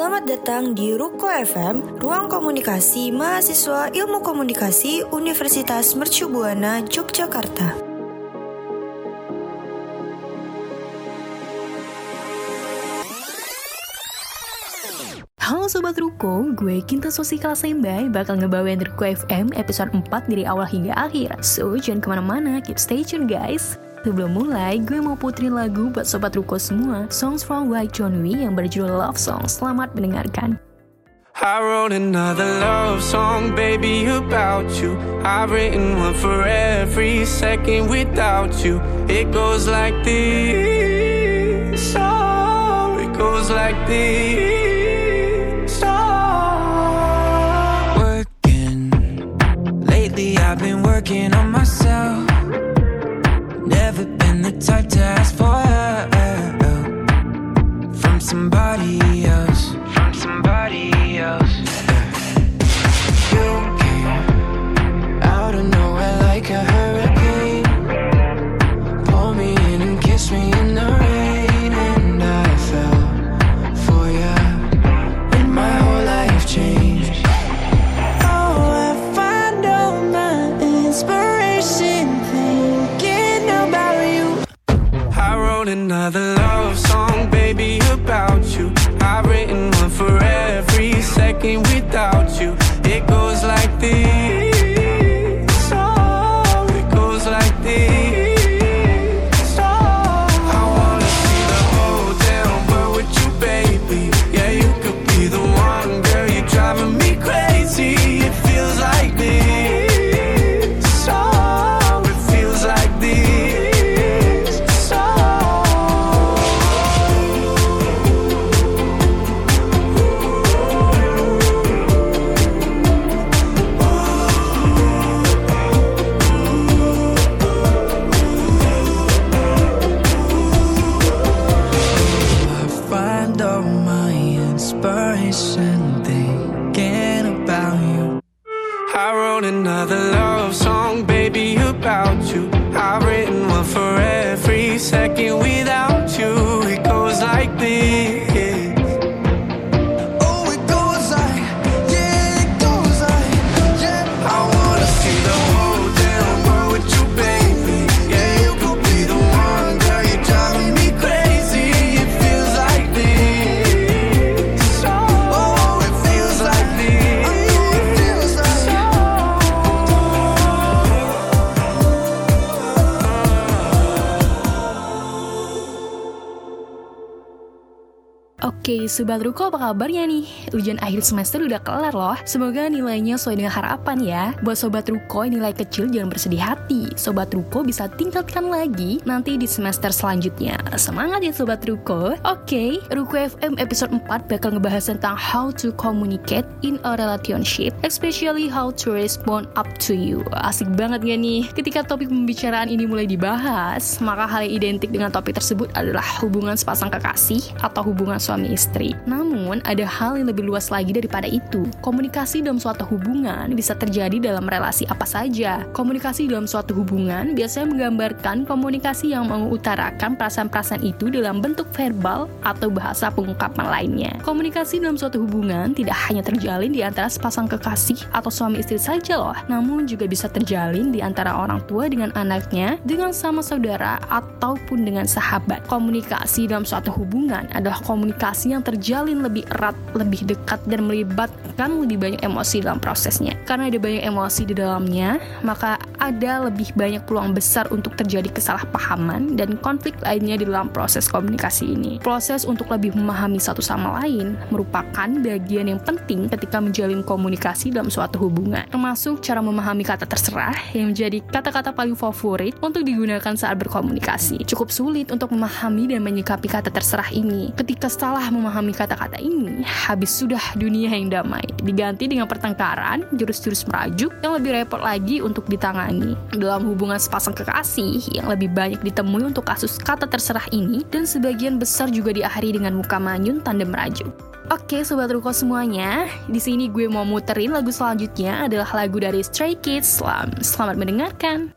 Selamat datang di Ruko FM, Ruang Komunikasi Mahasiswa Ilmu Komunikasi Universitas Mercu Buana, Yogyakarta. Halo Sobat Ruko, gue Kinta Sosi Kalasembai bakal ngebawain Ruko FM episode 4 dari awal hingga akhir. So, jangan kemana-mana, keep stay tune guys. Sebelum mulai, gue mau puterin lagu buat Sobat Ruko semua, Songs from White John Wee yang berjudul Love Song. Selamat mendengarkan. I wrote another love song, baby, about you. I've written one for every second without you. It goes like this, oh, it goes like this, oh. Working, lately I've been working on myself. Never been the type to ask for help from somebody else, from somebody else. You came out of nowhere like a hurricane, pull me in and kiss me in the rain, and I fell for you, and my whole life changed. Oh, I find all my inspiration thinking about you. I wrote another love song, baby, about you. I've written one for every second without you. It goes like this, oh, it goes like this, oh. I wanna see the whole damn world with you, baby. Yeah, you could be the one, girl, you're driving me crazy. It feels like this, oh, it feels like this, oh. I find all my inspiration thinking about you. I wrote another love song, baby, about you. I've written one for every second without you. It goes like this. Oh, it goes like, yeah, it goes like, yeah. I wanna see the whole damn world with you, baby. Yeah, you could be the one, girl, you're driving me crazy. It feels like this, oh, it feels like this, it feels like Oke, Sobat Ruko apa kabarnya nih? Ujian akhir semester udah kelar loh. Semoga nilainya sesuai dengan harapan ya. Buat Sobat Ruko, nilai kecil jangan bersedih hati. Sobat Ruko bisa tingkatkan lagi nanti di semester selanjutnya. Semangat ya Sobat Ruko. Oke, Ruko FM episode 4 bakal ngebahas tentang how to communicate in a relationship, especially how to respond up to you. Asik banget gak nih? Ketika topik pembicaraan ini mulai dibahas, maka hal yang identik dengan topik tersebut adalah hubungan sepasang kekasih atau hubungan suami istri. Namun, ada hal yang lebih luas lagi daripada itu. Komunikasi dalam suatu hubungan bisa terjadi dalam relasi apa saja. Komunikasi dalam suatu hubungan biasanya menggambarkan komunikasi yang mengutarakan perasaan-perasaan itu dalam bentuk verbal atau bahasa pengungkapan lainnya. Komunikasi dalam suatu hubungan tidak hanya terjalin di antara sepasang kekasih atau suami istri saja loh, namun juga bisa terjalin di antara orang tua dengan anaknya, dengan sama saudara, ataupun dengan sahabat. Komunikasi dalam suatu hubungan adalah komunikasi yang terjalin lebih erat, lebih dekat, dan melibatkan lebih banyak emosi dalam prosesnya. Karena ada banyak emosi di dalamnya, maka ada lebih banyak peluang besar untuk terjadi kesalahpahaman dan konflik lainnya di dalam proses komunikasi ini. Proses untuk lebih memahami satu sama lain merupakan bagian yang penting ketika menjalin komunikasi dalam suatu hubungan, termasuk cara memahami kata terserah yang menjadi kata-kata paling favorit untuk digunakan saat berkomunikasi. Cukup sulit untuk memahami dan menyikapi kata terserah ini. Ketika salah memahami kata-kata ini, habis sudah dunia yang damai, diganti dengan pertengkaran, jurus-jurus merajuk yang lebih repot lagi untuk ditangani. Dalam hubungan sepasang kekasih, yang lebih banyak ditemui untuk kasus kata terserah ini, dan sebagian besar juga diakhiri dengan muka manyun tanda merajuk. Oke, Sobat Ruko semuanya, di sini gue mau muterin lagu selanjutnya adalah lagu dari Stray Kids. Selamat mendengarkan.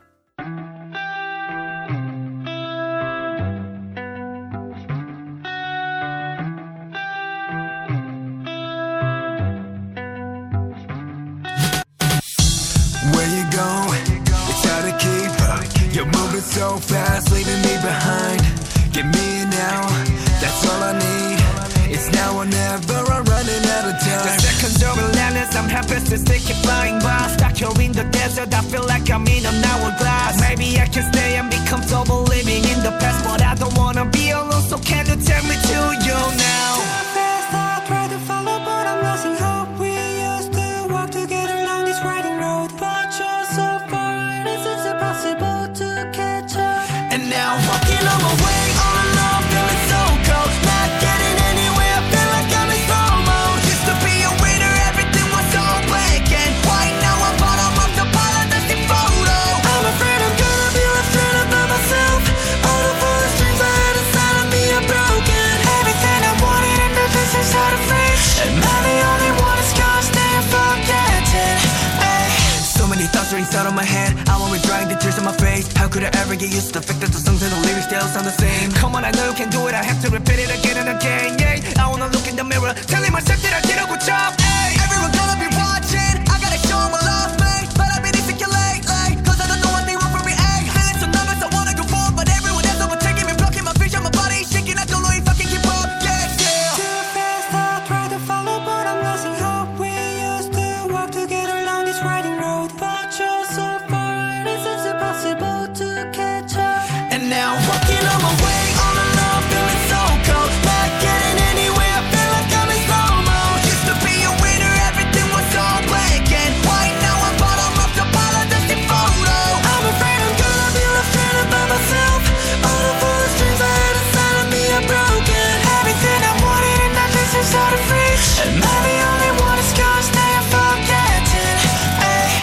so fast, leaving me behind. Give me an now, that's all I need. It's now or never, I'm running out of time. The seconds are relentless, I'm helpless to stick it flying by. Stuck here in the desert, I feel like I'm in an hourglass. Maybe I can stay and be comfortable living in the past, but I don't wanna be alone, so can you take me to you now? Too fast, I try to follow, but I'm losing hope. We used to walk together along this winding road, but you're so far, and it's impossible to catch up. And now I'm walking on my way, all alone, feeling so cold. Not getting anywhere, I feel like I'm in slow-mo. Used to be a winner, everything was so black and white. Now I'm bottom of the pile, a dusty photo. I'm afraid I'm gonna be left stranded by myself. All the foolish dreams I had inside of me are broken. Everything I wanted in the distance out of reach. Am I the only one that's gonna stay and forget it? So many thoughts are inside of my head. I'm always drying the tears on my face. How could I ever get used to the fact that the songs and the lyrics still sound the same? Come on, I know you can do it. I have to repeat it again and again. Yeah, I wanna look in the mirror, telling myself that I did a good job. Hey, everyone gonna be watching. I gotta show 'em I love me, but I've been insecure lately. 'Cause I don't know what they want from me. Hey, feeling so nervous, I wanna go forward, but everyone else overtaking me, blocking my vision. My body is shaking. I don't know if I can keep up. Yeah, yeah. Too fast, I try to follow, but I'm losing hope. We used to walk together along this winding road, but you're so far, and it's impossible to catch up. And now I'm walking on my way, all alone, feeling so cold. Not getting anywhere, I feel like I'm in slow-mo. Used to be a winner, everything was so black and white. Now I'm bottom of the pile, a dusty photo. I'm afraid I'm gonna be left stranded by myself. All the foolish dreams I had inside of me are broken. Everything I wanted in that distance out of reach. Am I the only one that's gonna stay and forget it? Ay.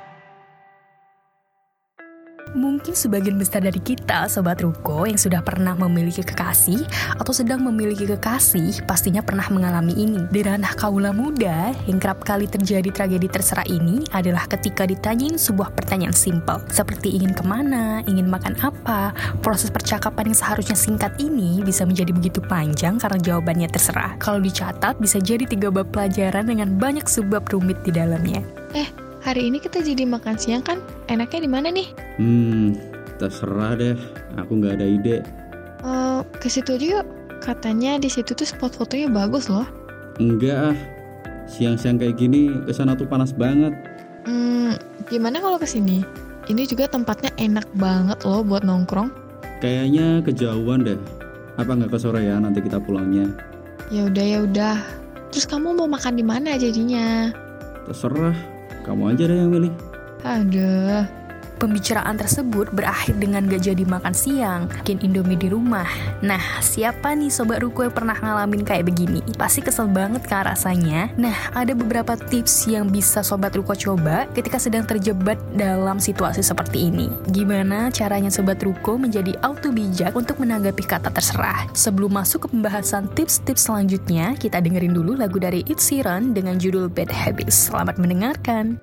Mungkin sebagian besar dari kita, Sobat Ruko, yang sudah pernah memiliki kekasih atau sedang memiliki kekasih, pastinya pernah mengalami ini. Di ranah kaula muda, yang kerap kali terjadi tragedi terserah ini adalah ketika ditanyain sebuah pertanyaan simpel, seperti ingin kemana, ingin makan apa. Proses percakapan yang seharusnya singkat ini bisa menjadi begitu panjang karena jawabannya terserah. Kalau dicatat, bisa jadi 3 bab pelajaran dengan banyak sebab rumit di dalamnya. Hari ini kita jadi makan siang kan? Enaknya di mana nih? Terserah deh. Aku nggak ada ide. Ke situ aja yuk. Katanya di situ tuh spot fotonya bagus loh. Enggak ah. Siang-siang kayak gini kesana tuh panas banget. Gimana kalau ke sini? Ini juga tempatnya enak banget loh buat nongkrong. Kayaknya kejauhan deh. Apa nggak ke sore ya nanti kita pulangnya? Ya udah. Terus kamu mau makan di mana jadinya? Terserah. Kamu aja deh yang milih. Aduh. Pembicaraan tersebut berakhir dengan gak jadi makan siang, bikin Indomie di rumah. Nah, siapa nih Sobat Ruko yang pernah ngalamin kayak begini? Pasti kesel banget kan rasanya. Nah, ada beberapa tips yang bisa Sobat Ruko coba ketika sedang terjebak dalam situasi seperti ini. Gimana caranya Sobat Ruko menjadi auto bijak untuk menanggapi kata terserah? Sebelum masuk ke pembahasan tips-tips selanjutnya, kita dengerin dulu lagu dari Ed Sheeran dengan judul Bad Habits. Selamat mendengarkan.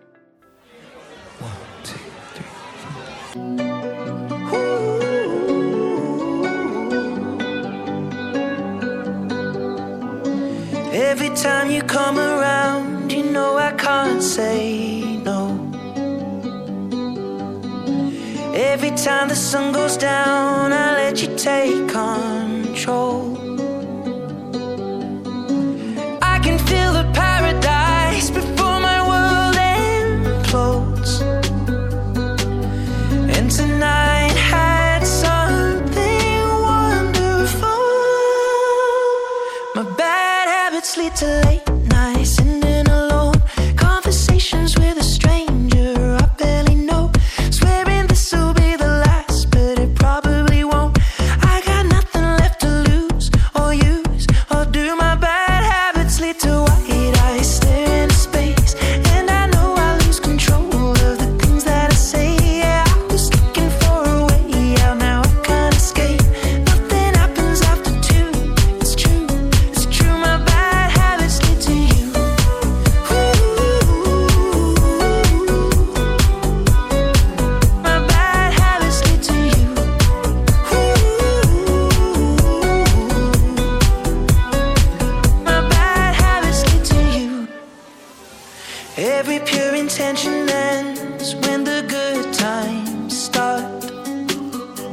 Every time you come around, you know I can't say no. Every time the sun goes down, I let you take control. I can feel the paradise before my world implodes. And tonight had something wonderful. My bad habits lead to late nights, sitting alone, conversations with a stranger I barely know, swearing this will be the last, but it probably won't. I got nothing left to lose or use, or do my bad habits lead to white eyes staring into space, and I know I lose control of the things that I say. Yeah, I was looking for a way out, now I can't escape. Nothing happens after 2. It's true, my bad habits lead to you. My bad habits lead to you. My bad habits lead to you. Every pure intention ends when the good times start.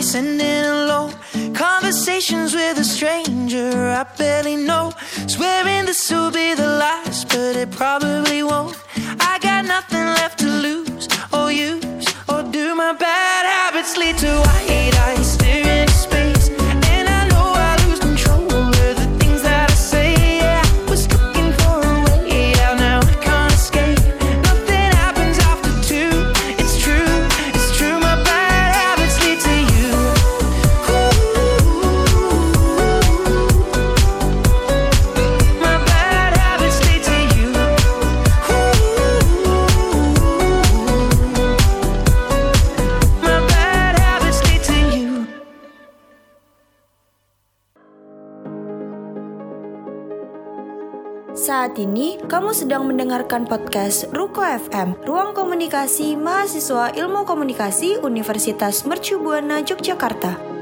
sending alone. Conversations with a stranger I barely know. Swearing this will be the last, but it probably won't. I got nothing left to lose or use, or do my bad habits lead to white eyes staring into space? And I know I lose control of the things that I say. Yeah, I was looking for a way out, now I can't escape. Nothing happens after two. It's true, my bad habits lead to you. My bad habits lead to you. My bad habits lead to you. Saat ini, kamu sedang mendengarkan podcast Ruko FM, Ruang Komunikasi Mahasiswa Ilmu Komunikasi Universitas Mercu Buana Yogyakarta.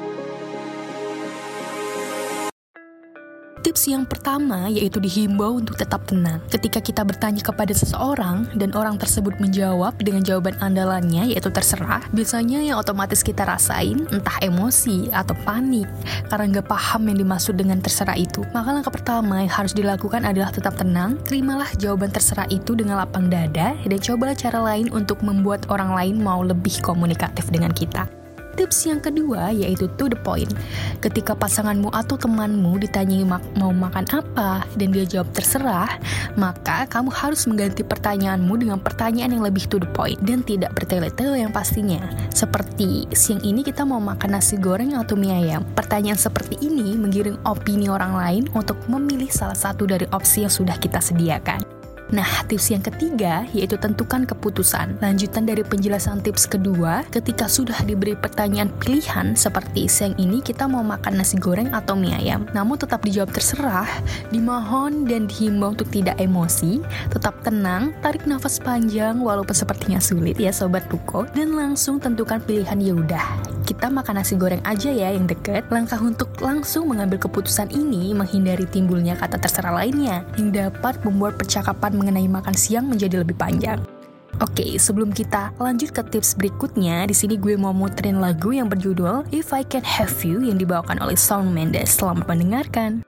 Tips yang pertama yaitu dihimbau untuk tetap tenang. Ketika kita bertanya kepada seseorang dan orang tersebut menjawab dengan jawaban andalannya yaitu terserah, biasanya yang otomatis kita rasain entah emosi atau panik karena nggak paham yang dimaksud dengan terserah itu. Maka langkah pertama yang harus dilakukan adalah tetap tenang, terimalah jawaban terserah itu dengan lapang dada dan cobalah cara lain untuk membuat orang lain mau lebih komunikatif dengan kita. Tips yang kedua yaitu to the point. Ketika pasanganmu atau temanmu ditanyai mau makan apa dan dia jawab terserah, maka kamu harus mengganti pertanyaanmu dengan pertanyaan yang lebih to the point dan tidak bertele-tele yang pastinya. Seperti, siang ini kita mau makan nasi goreng atau mie ayam. Pertanyaan seperti ini menggiring opini orang lain untuk memilih salah satu dari opsi yang sudah kita sediakan. Nah, tips yang ketiga yaitu tentukan keputusan. Lanjutan dari penjelasan tips kedua, ketika sudah diberi pertanyaan pilihan seperti siang ini kita mau makan nasi goreng atau mie ayam, namun tetap dijawab terserah, dimohon dan dihimbau untuk tidak emosi, tetap tenang, tarik nafas panjang walaupun sepertinya sulit ya Sobat Ruko, dan langsung tentukan pilihan. Yaudah, kita makan nasi goreng aja ya yang deket. Langkah untuk langsung mengambil keputusan ini menghindari timbulnya kata terserah lainnya yang dapat membuat percakapan mengenai makan siang menjadi lebih panjang. Oke, sebelum kita lanjut ke tips berikutnya, di sini gue mau muterin lagu yang berjudul If I Can Have You yang dibawakan oleh Shawn Mendes. Selamat mendengarkan.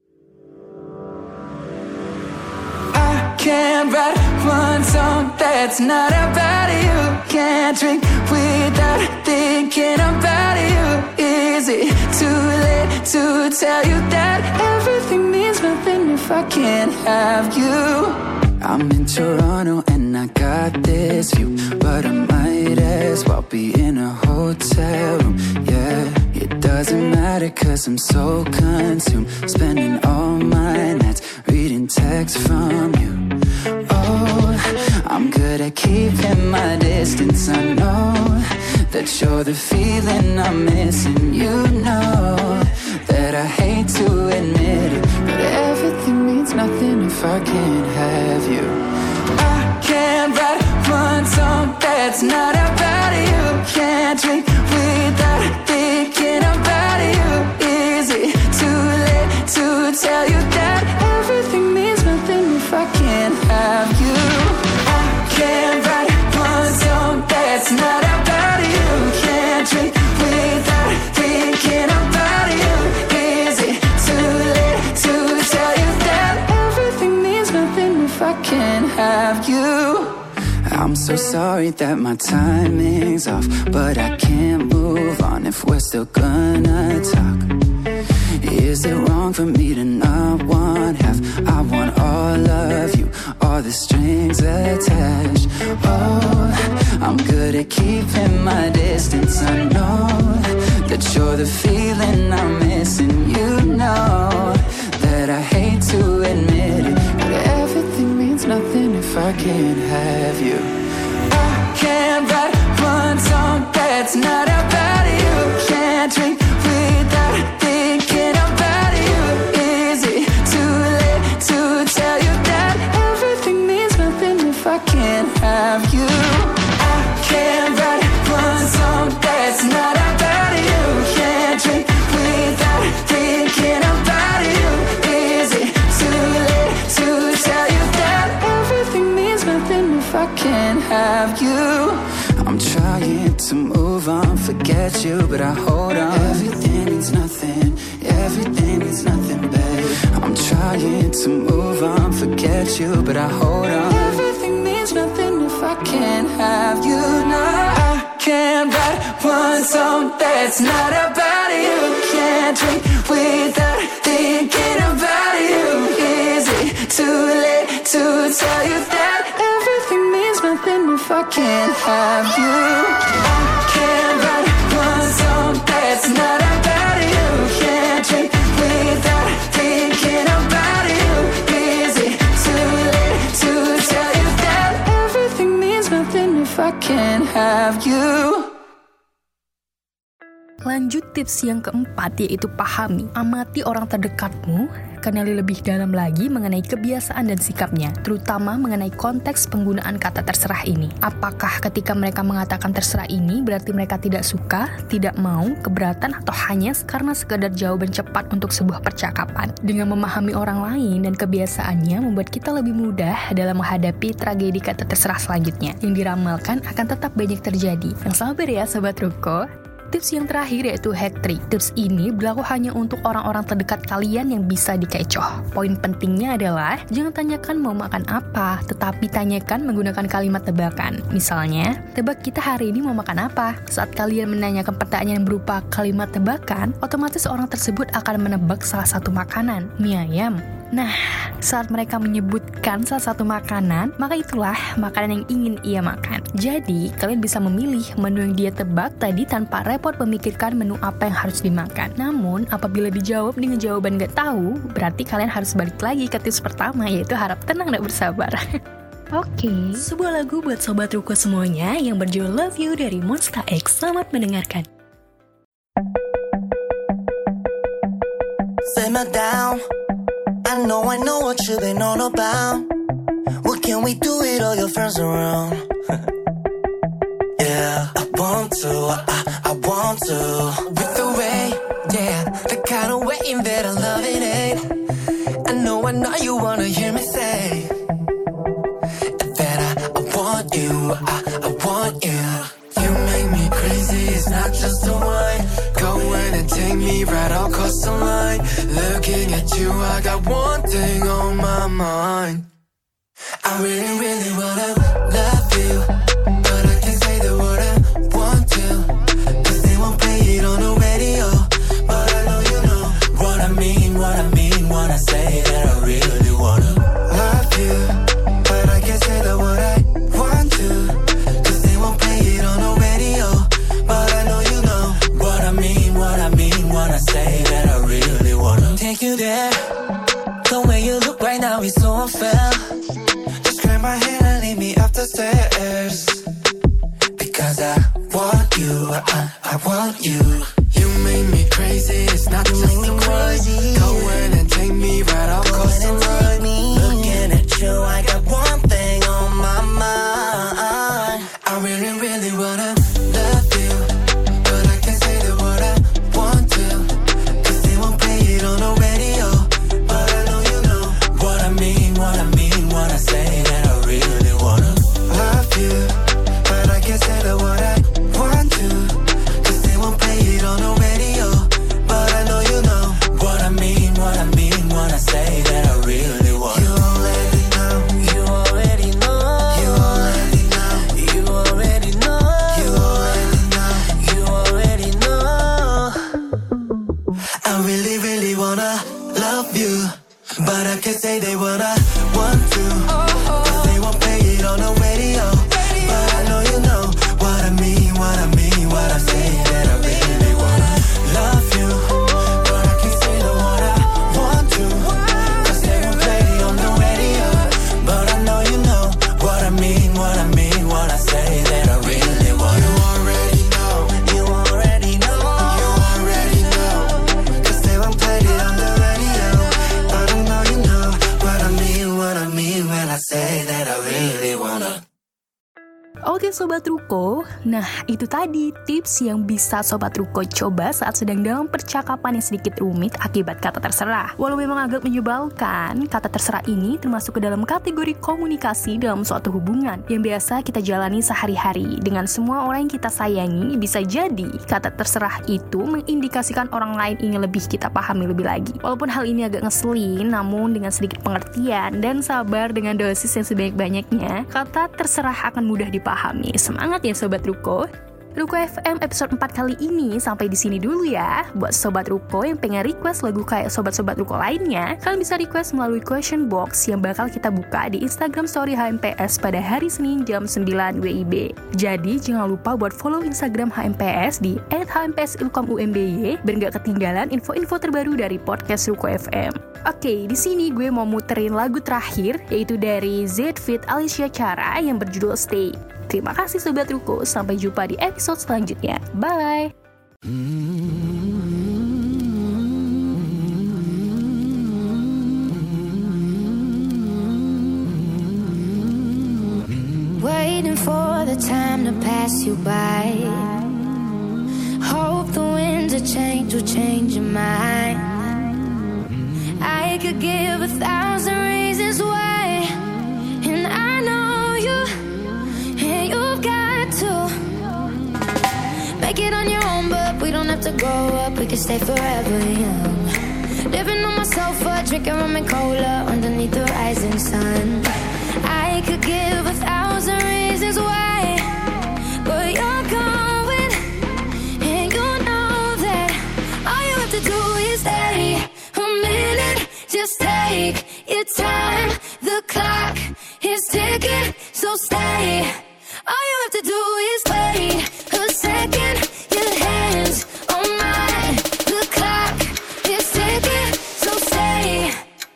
I can't write one song that's not about you. Can't drink without thinking about you. Is it too late to tell you that everything means nothing if I can't have you? I'm in Toronto and I got this view, but I might as well be in a hotel room. Yeah, it doesn't matter cause I'm so consumed, spending all my nights reading texts from you. Oh, I'm good at keeping my distance. I know that you're the feeling I'm missing. You know that I hate to admit it, but everything means nothing if I can't have you. I can't write one song that's not about you. Can't drink without thinking about you. Is it too late to tell you that everything means nothing if I can't have you? I can't write one song that's not about you. Can't drink without thinking about you. Is it too late to tell you that everything means nothing if I can't have you? I'm so sorry that my timing's off, but I can't move on if we're still gonna talk. Is it wrong for me to not want half? I want all of you, all the strings attached. Oh, I'm good at keeping my distance. I know that you're the feeling I'm missing. You know that I hate to admit it, but everything means nothing if I can't have you. I can't write one song that's not about you. Can't drink without thinking about you. Is it too late to tell you that everything means nothing if I can't have you? I can't write one song that's not about you. Can't drink without thinking about you. Is it too late to tell you that everything means nothing if I can't have you? I'm trying to move move on, forget you, but I hold on. Everything means nothing, babe. I'm trying to move on, forget you, but I hold on. Everything means nothing if I can't have you now. I can't write one song that's not about you. Can't drink without thinking about you. Is it too late to tell you that everything means nothing if I can't have you? I can't write one song that's not about you. Can't drink without thinking about you. Is it too late to tell you that everything means nothing if I can't have you? Lanjut tips yang keempat, yaitu pahami, amati orang terdekatmu, kenali lebih dalam lagi mengenai kebiasaan dan sikapnya, terutama mengenai konteks penggunaan kata terserah ini. Apakah ketika mereka mengatakan terserah ini berarti mereka tidak suka, tidak mau, keberatan, atau hanya karena sekedar jawaban cepat untuk sebuah percakapan? Dengan memahami orang lain dan kebiasaannya membuat kita lebih mudah dalam menghadapi tragedi kata terserah selanjutnya yang diramalkan akan tetap banyak terjadi. Yang sabar ya Sobat Ruko. Tips yang terakhir yaitu hat trick. Tips ini berlaku hanya untuk orang-orang terdekat kalian yang bisa dikecoh. Poin pentingnya adalah jangan tanyakan mau makan apa, tetapi tanyakan menggunakan kalimat tebakan. Misalnya, tebak kita hari ini mau makan apa? Saat kalian menanyakan pertanyaan yang berupa kalimat tebakan, otomatis orang tersebut akan menebak salah satu makanan, mie ayam. Nah, saat mereka menyebutkan salah satu makanan, maka itulah makanan yang ingin ia makan. Jadi, kalian bisa memilih menu yang dia tebak tadi tanpa repot memikirkan menu apa yang harus dimakan. Namun, apabila dijawab dengan jawaban gak tahu, berarti kalian harus balik lagi ke tips pertama, yaitu harap tenang dan bersabar. Oke, sebuah lagu buat Sobat Ruko semuanya yang berjudul Love You dari Monsta X. Selamat mendengarkan. Simmer down. I know what you've been on about. What can we do with all your friends around? Yeah, I want to. With the way, yeah, the kind of way that I love it ain't. I know you wanna hear me say that I want you, I want you. You make me crazy, it's not just a wine. Go in and take me right across the line. Looking at you, I got one thing on my mind. I really, really wanna love you, but I can't say the word I want to, 'cause they won't play it on the radio. But I know you know what I mean, when I say that I really wanna love you, but I can't say the word I want to, 'cause they won't play it on the radio. But I know you know what I mean, when I say that I really wanna take you there. The way you look right now is so unfair. Just grab my hand and lead me up the stairs, because I want you, I want you. You make me crazy, it's not just a word. Go in and take me right across the road. Looking at you, I got one thing on my mind. I really, really wanna love you, but I can't say the word I want to, 'cause they won't play it on the radio. But I know you know what I mean, when I say that I really wanna love you, but I can't say the word I want to, 'cause they won't play it on the radio. But I know you know what I mean, when I say that I really want. You already know, you already know, you already know, you already know, you already know, you already know. I really, really wanna love you, but I can't say they wanna want to, 'cause they won't play it on the radio. But I know you know what I mean, when I say that I really wanna love you, but I can't say the word I want to, 'cause they won't play it on the radio. But I know you know what I mean, when I say that I really wanna. You already know, you already know, you already know, 'cause they won't play it on the radio. But I know you know what I mean, Sobat Ruko, nah itu tadi tips yang bisa Sobat Ruko coba saat sedang dalam percakapan yang sedikit rumit akibat kata terserah. Walau memang agak menyebalkan, kata terserah ini termasuk ke dalam kategori komunikasi dalam suatu hubungan yang biasa kita jalani sehari-hari dengan semua orang yang kita sayangi. Bisa jadi kata terserah itu mengindikasikan orang lain ingin lebih kita pahami lebih lagi. Walaupun hal ini agak ngeselin, namun dengan sedikit pengertian dan sabar dengan dosis yang sebanyak-banyaknya, kata terserah akan mudah dipahami. Semangat ya Sobat Ruko. Ruko FM episode 4 kali ini sampai di sini dulu ya. Buat Sobat Ruko yang pengen request lagu kayak Sobat-Sobat Ruko lainnya, kalian bisa request melalui question box yang bakal kita buka di Instagram Story HMPS pada hari Senin jam 9 WIB. Jadi jangan lupa buat follow Instagram HMPS di @hmps_ilkom_umby biar gak ketinggalan info-info terbaru dari podcast Ruko FM. Oke, di sini gue mau muterin lagu terakhir yaitu dari Z feat Alicia Cara yang berjudul Stay. Terima kasih Sobat Ruko, sampai jumpa di episode selanjutnya. Bye! Waiting for the time to pass you by. Hope the winds of change will change your mind. I could give 1,000 reasons why, and I know you. You've got to make it on your own, but we don't have to grow up. We can stay forever young. Living on my sofa, drinking rum and cola underneath the rising sun. I could give 1,000 reasons why, but you're going, and you know that all you have to do is stay a minute. Just take your time. The clock is ticking, so stay. All you have to do is wait a second. Your hands on mine. The clock is ticking, so stay.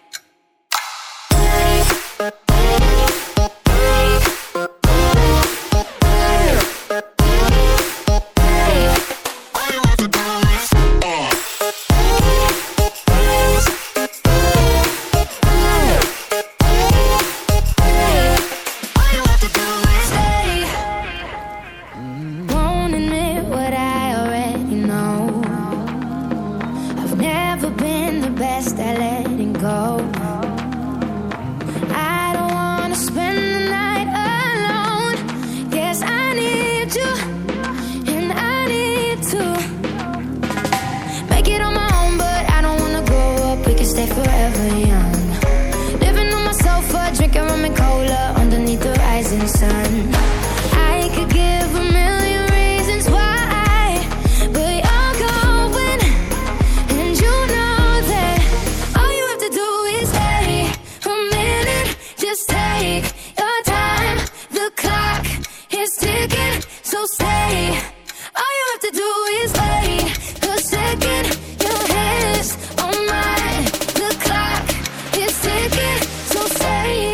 Sun. I could give 1,000,000 reasons why, but you're going, and you know that all you have to do is stay a minute. Just take your time. The clock is ticking, so stay. All you have to do is wait a second. Your hands on mine. The clock is ticking, so stay.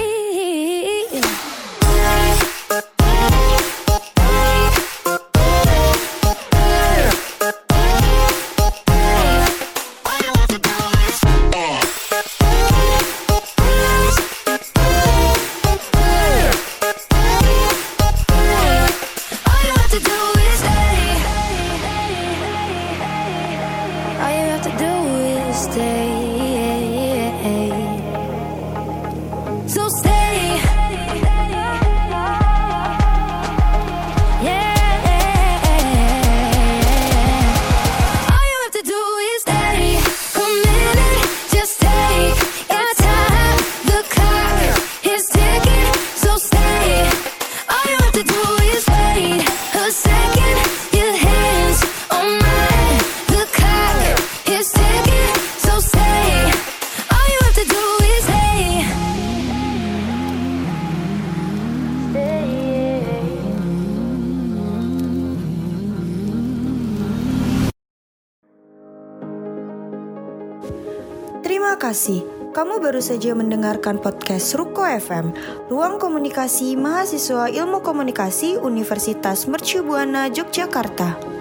So stay. Terima kasih. Kamu baru saja mendengarkan podcast Ruko FM, Ruang Komunikasi Mahasiswa Ilmu Komunikasi Universitas Mercu Buana Yogyakarta.